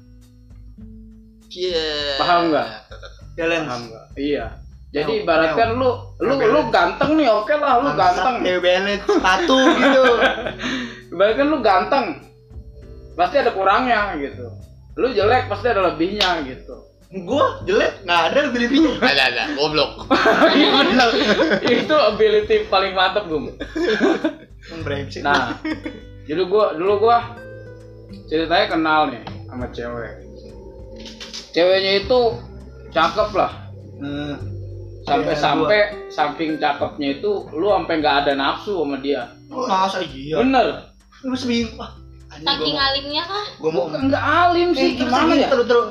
Iya.
Paham nggak?
Balance.
Paham nggak? Iya. Jadi ibaratkan lu ganteng nih, oke lah lu ganteng.
Kayak balance sepatu gitu.
Ibaratkan lu ganteng, pasti ada kurangnya gitu. Lu jelek pasti ada lebihnya gitu.
Gua jelek nggak ada lebih-lebihnya.
Ada, goblok.
Iya benar. Itu ability paling mantap gum.
Brengsek.
Nah, jadi dulu gua ceritanya kenal nih sama cewek. Ceweknya itu cakep lah. Sampai saking cakepnya itu lu sampai nggak ada nafsu sama dia.
Masa iya?
Bener.
Lu seminggu.
saking alimnya kah?
Gua mau
Enggak alim sih, gimana ya?
Terus.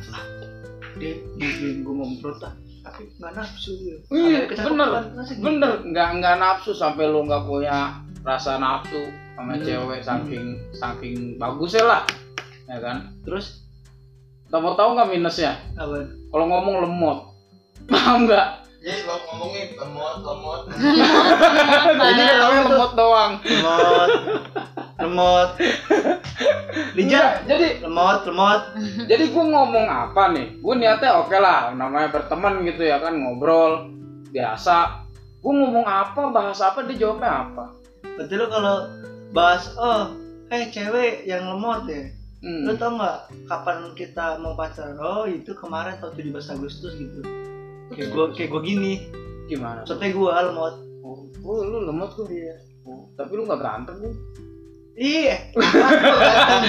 Dia gua mau memperotah. Tapi nggak nafsu.
Iya, bener. Nggak nafsu sampai lu nggak punya rasa nafsu sama cewek saking bagusnya lah, ya kan? Terus, kamu tahu nggak minusnya?
Apa?
Kalau ngomong lemot, paham nggak?
Jadi lo ngomongin lemot.
Jadi namanya lemot doang.
Lemot. Lijak.
Jadi
Lemot.
Jadi gue ngomong apa nih? Gue niatnya oke lah, namanya berteman gitu ya kan, ngobrol biasa. Gue ngomong apa, bahas apa, dia jawabnya apa?
Berarti lu kalau bahas cewek yang lemot ya. Lu tau nggak kapan kita mau pacaran? Oh itu kemarin tahun 17 Agustus gitu. Kayak gua gini.
Gimana?
Soalnya gua lemot.
Oh, lu lemot tuh. Iya. Tapi lu nggak ganteng lu.
Iya. Ganteng.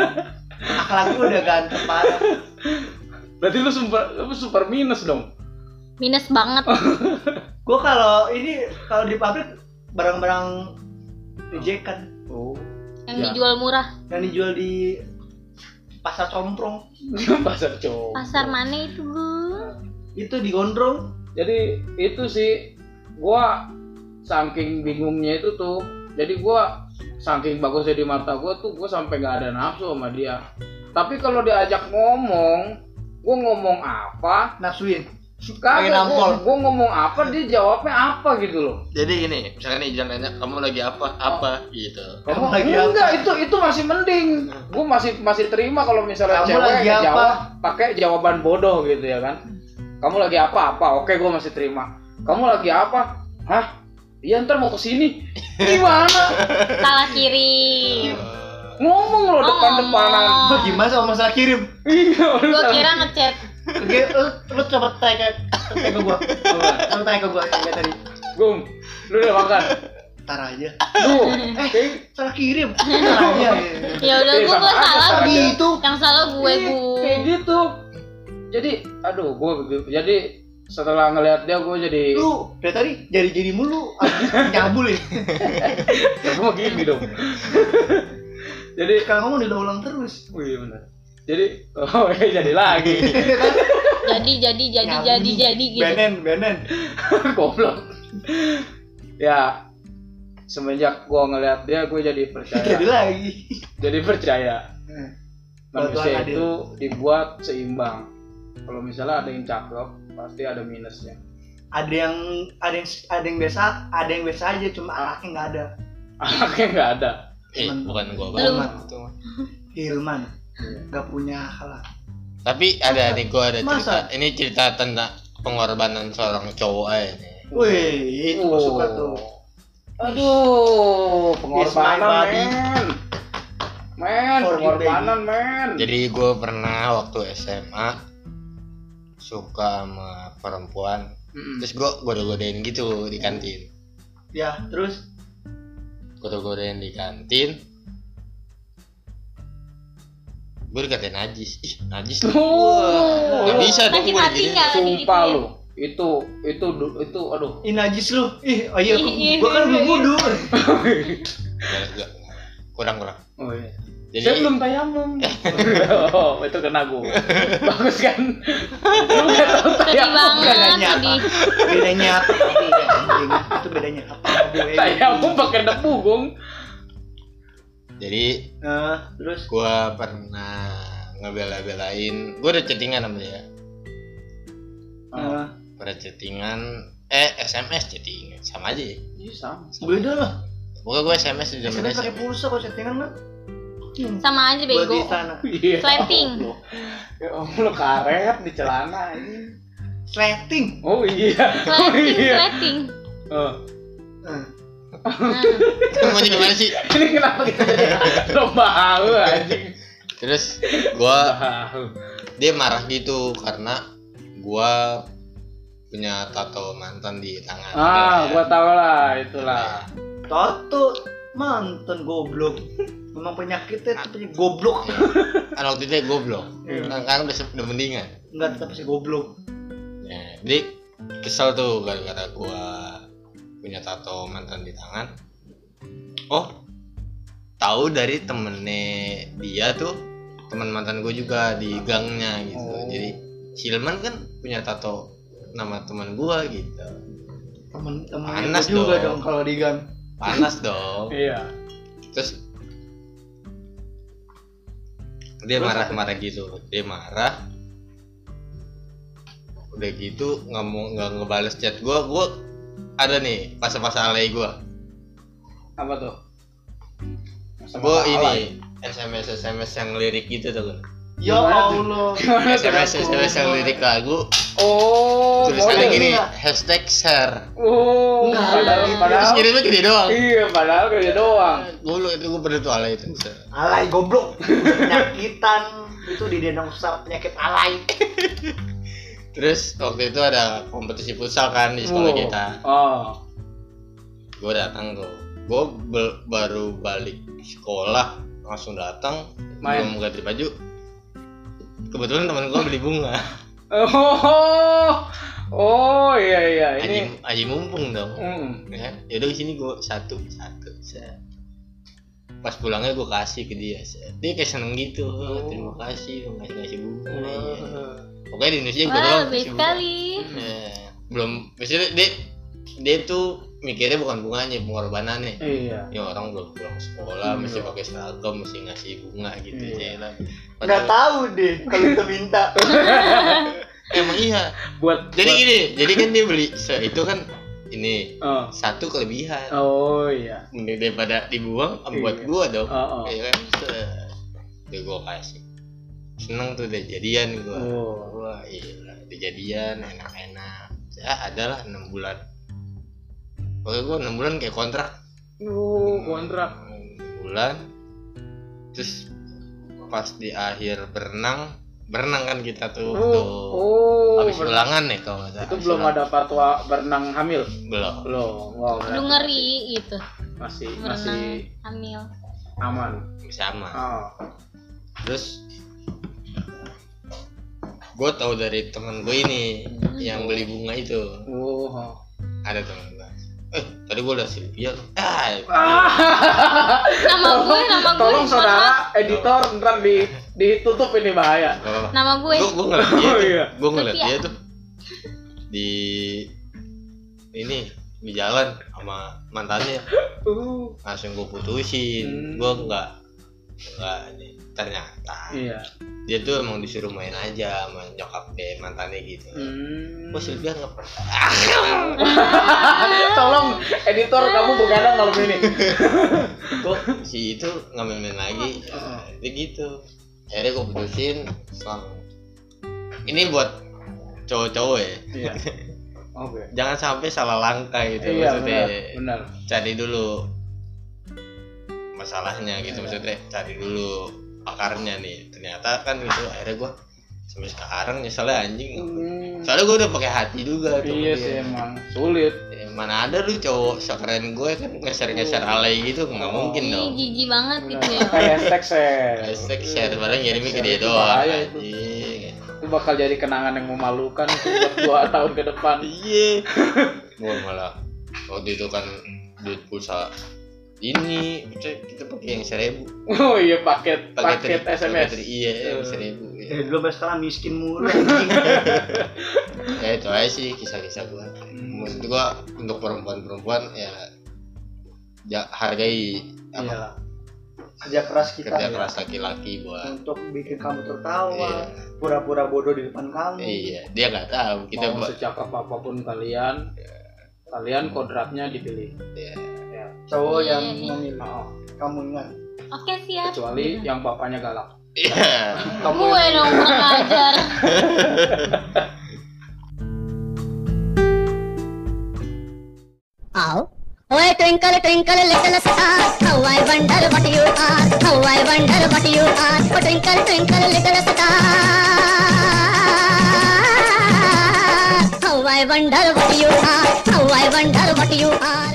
Akhlak gua udah ganteng parah.
Berarti lu super minus dong.
Minus banget.
Gua kalau di pabrik barang-barang ejekan.
Oh.
Yang dijual murah.
Yang dijual di pasar comprong.
Pasar cowok.
Pasar mana itu, Bu?
Itu di gondrong.
Jadi itu sih gua saking bingungnya itu tuh. Jadi gua saking bagusnya di mata gua tuh gua sampai nggak ada nafsu sama dia. Tapi kalau diajak ngomong, gua ngomong apa?
Nafsuin.
Kagak, gua ngomong apa dia jawabnya apa gitu loh.
Jadi gini, misalkan nih Ijan nanya, kamu lagi apa gitu.
Kamu lagi
enggak, itu masih mending. Gua masih terima kalau misalnya
Kamu
cewek
lagi apa?
jawab pakai jawaban bodoh gitu ya kan. Kamu lagi apa? Oke, gua masih terima. Kamu lagi apa? Hah? Iya, ntar mau kesini. Gimana?
Salah kirim.
Ngomong lo depan-depanan.
Gua gimana sama masalah kirim?
Iya,
Gua kira ngechat.
Oke, lu coba tanya ke gua. Lu tanya ke gua kayak tadi.
Gum, lu udah makan?
Ntar aja.
Tuh,
Salah kirim. Ntar aja.
Ya udah gua salah
Gitu.
Yang salah gue, Bu.
Kayak gitu. Jadi, aduh, jadi setelah ngelihat dia gue jadi
Lu dari tadi jadi mulu abis nyabul ya.
ya gue gini dong. Jadi
kalau ngomong diulang terus.
wih benar. Jadi jadi lagi.
jadi gitu.
Benen.
Goblok. Ya semenjak gua ngeliat dia gua jadi percaya.
Jadi lagi.
Jadi percaya.
Kalau
Manusia
Tuhan adil.
itu dibuat seimbang. Kalau misalnya ada yang cakep, pasti ada minusnya.
Ada yang biasa aja, cuma anaknya nggak ada.
Anaknya nggak ada.
Bukan gua
Lu.
banget itu.
Hilman nggak punya akal.
Tapi ada nih, gua ada cerita.
Masa?
Ini cerita tentang pengorbanan seorang cowok aja nih.
Wih, itu gua suka tuh.
Aduh,
It's
pengorbanan
my body.
men,
For you,
pengorbanan men.
Jadi gue pernah waktu SMA suka sama perempuan. Terus gue godain gitu di kantin.
Ya, terus
Godain di kantin. Gue dikatain najis. Ih, najis tuh.
Oh,
Gak bisa dong
Sakit
gue
hati
diginiin.
nggak?
sumpah
Digituin.
lu. Itu aduh.
ini najis lu. Ih, ayo
Ih,
gua kan belum wudu.
Gak. Kurang.
Oh iya.
Jadi
Saya belum tayamum. Oh, itu kena gue. Bagus kan? Lu enggak tahu
Sedih
tayamum.
banget,
Bedanya apa?
sedih.
Bedanya apa? Itu bedanya apa?
Tayamum pakai debu, Gong.
jadi
Terus
gue pernah ngebela-belain. Gue udah chattingan sama dia. Pada chattingan SMS chattingan sama aja ya.
Iya sama.
beda lah.
Pokoknya gue SMS di zaman
SMS pakai
SMA.
pulsa kalau chattingan kan.
Sama aja
Buat di
bego.
sana.
Iya.
Slating.
Ya lu karet di celana ini.
Slating.
Oh iya.
Slating.
Oh.
Mau gimana sih?
Ini kenapa kita jadi lomba halu anjing?
Terus dia marah gitu karena gua punya tato mantan di tangan.
Gua tahu lah, itulah.
Tato mantan goblok. Memang penyakitnya itu goblok.
Kan waktu itu goblok.
Iya.
Kan udah mendingan.
Enggak tetap sih goblok.
Ya, jadi kesel tuh gara-gara gua punya tato mantan di tangan. Oh, tahu dari temennya dia tuh, teman mantan gue juga di gangnya gitu. Jadi Silman kan punya tato nama teman gue gitu.
Temen-temen
Panas
juga
dong.
dong kalau di gang.
Panas dong.
Iya.
Terus dia marah-marah gitu. Dia marah. Udah gitu nggak ngebales chat gue. Gue ada nih pas-pas alay gue.
Apa tuh?
Gue ini SMS yang lirik gitu tuh kan.
Ya Allah.
SMS yang lirik lagu.
Oh,
Tulisannya
boleh.
gini, #share.
Oh,
Terus
padahal
kirimnya gede doang.
iya, padahal kayak doang.
Gue pernah tuh alay itu.
Alay goblok. Penyakitan itu di Denong penyakit alay.
Terus waktu itu ada kompetisi futsal kan di sekolah kita.
Oh.
Gue datang tuh. Gue baru balik sekolah langsung datang, belum ganti baju. Kebetulan teman gue beli bunga.
Oh iya ini.
Aji mumpung dong. Ya, yaudah di sini gue satu. Pas pulangnya gue kasih ke dia. Dia kayak seneng gitu. Terima kasih lo ngasih bunga. Iya. Pokoknya di Indonesia gue
Wah,
doang
baik sekali.
belum. Maksudnya dia tuh mikirnya bukan bunganya, pengorbanannya.
Iya.
Ya orang belum pulang sekolah, mesti pakai seragam, mesti ngasih bunga gitu aja.
Nggak tahu deh kalau kita minta.
Emang iya. Jadi kan dia beli itu kan ini satu kelebihan.
Oh iya.
Mending daripada dibuang buat
Iya.
gua dong.
Iya.
Ya kan. Udah gua kasih. Seneng tuh udah jadian gua. Wah, iya, udah jadian enak-enak. Ya adalah 6 bulan. Pokoknya gua 6 bulan kayak kontrak.
Kontrak.
6 bulan. Terus pas di akhir berenang kan kita tuh. Habis ulangan nih kalau nggak salah.
Itu belum ada fatwa berenang hamil.
Belum.
Wow.
Lu ngeri gitu.
Masih
Berenang hamil.
aman.
Sama.
Oh.
Terus gue tahu dari temen gue ini yang beli bunga itu.
Oh.
Ada temen gue. tadi gue udah Sylvia.
Nama gue
Tolong saudara editor ntar ditutup ini bahaya.
Nama gue.
Gue ngeliat dia.
Oh, iya.
Gue ngeliat dia tuh di jalan sama mantannya. Langsung gue putusin. Gue nggak nih. Ternyata dia tuh emang disuruh main aja sama nyokap deh mantannya gitu. Gue Sylvia nggak pernah.
Tolong editor kamu begadang malam ini.
Kok si itu nggak main lagi? Dia gitu. Akhirnya gue putusin. Ini buat cowok-cowok ya.
Iya. Oke.
Jangan sampai salah langkah gitu.
Iya,
maksudnya.
benar.
Cari dulu masalahnya gitu, maksudnya cari dulu akarnya nih. Ternyata kan gitu, akhirnya gue sampai sekarang nyeselnya anjing. Soalnya gue udah pakai hati juga tuh.
Iya sih emang sulit.
Mana ada lu cowok sekeren gue kan ngeser alay gitu, nggak mungkin dong.
Jijik banget gitu ya.
Kayak
Share padahal ngirimnya ke dia doang.
Bahaya itu. Itu bakal jadi kenangan yang memalukan buat 2 tahun ke depan.
Iya. Gue malah waktu itu kan duit pulsa ini kita pakai yang 1.000.
Oh iya, paket SMS.
Iya, 1.000.
Dulu sampai sekarang miskin mulu.
Ya itu aja sih kisah-kisah gua. Maksud gua untuk perempuan ya hargai
Iya. Kerja keras kita.
Kerja keras laki-laki buat
untuk bikin kamu tertawa, pura-pura bodoh di depan kamu.
Iya, dia nggak tahu kita
mau secakap apapun kalian kodratnya dipilih.
Iya.
Cowok yang memilih kamu ingat.
Oke, siap.
Kecuali yang bapaknya galak.
Iya.
Gue dong kurang ajar.
Oh, twinkle, twinkle, little star, how I wonder what you are, how I wonder what you are. Oh, twinkle, twinkle, little star, how I wonder what you are, how I wonder what you are.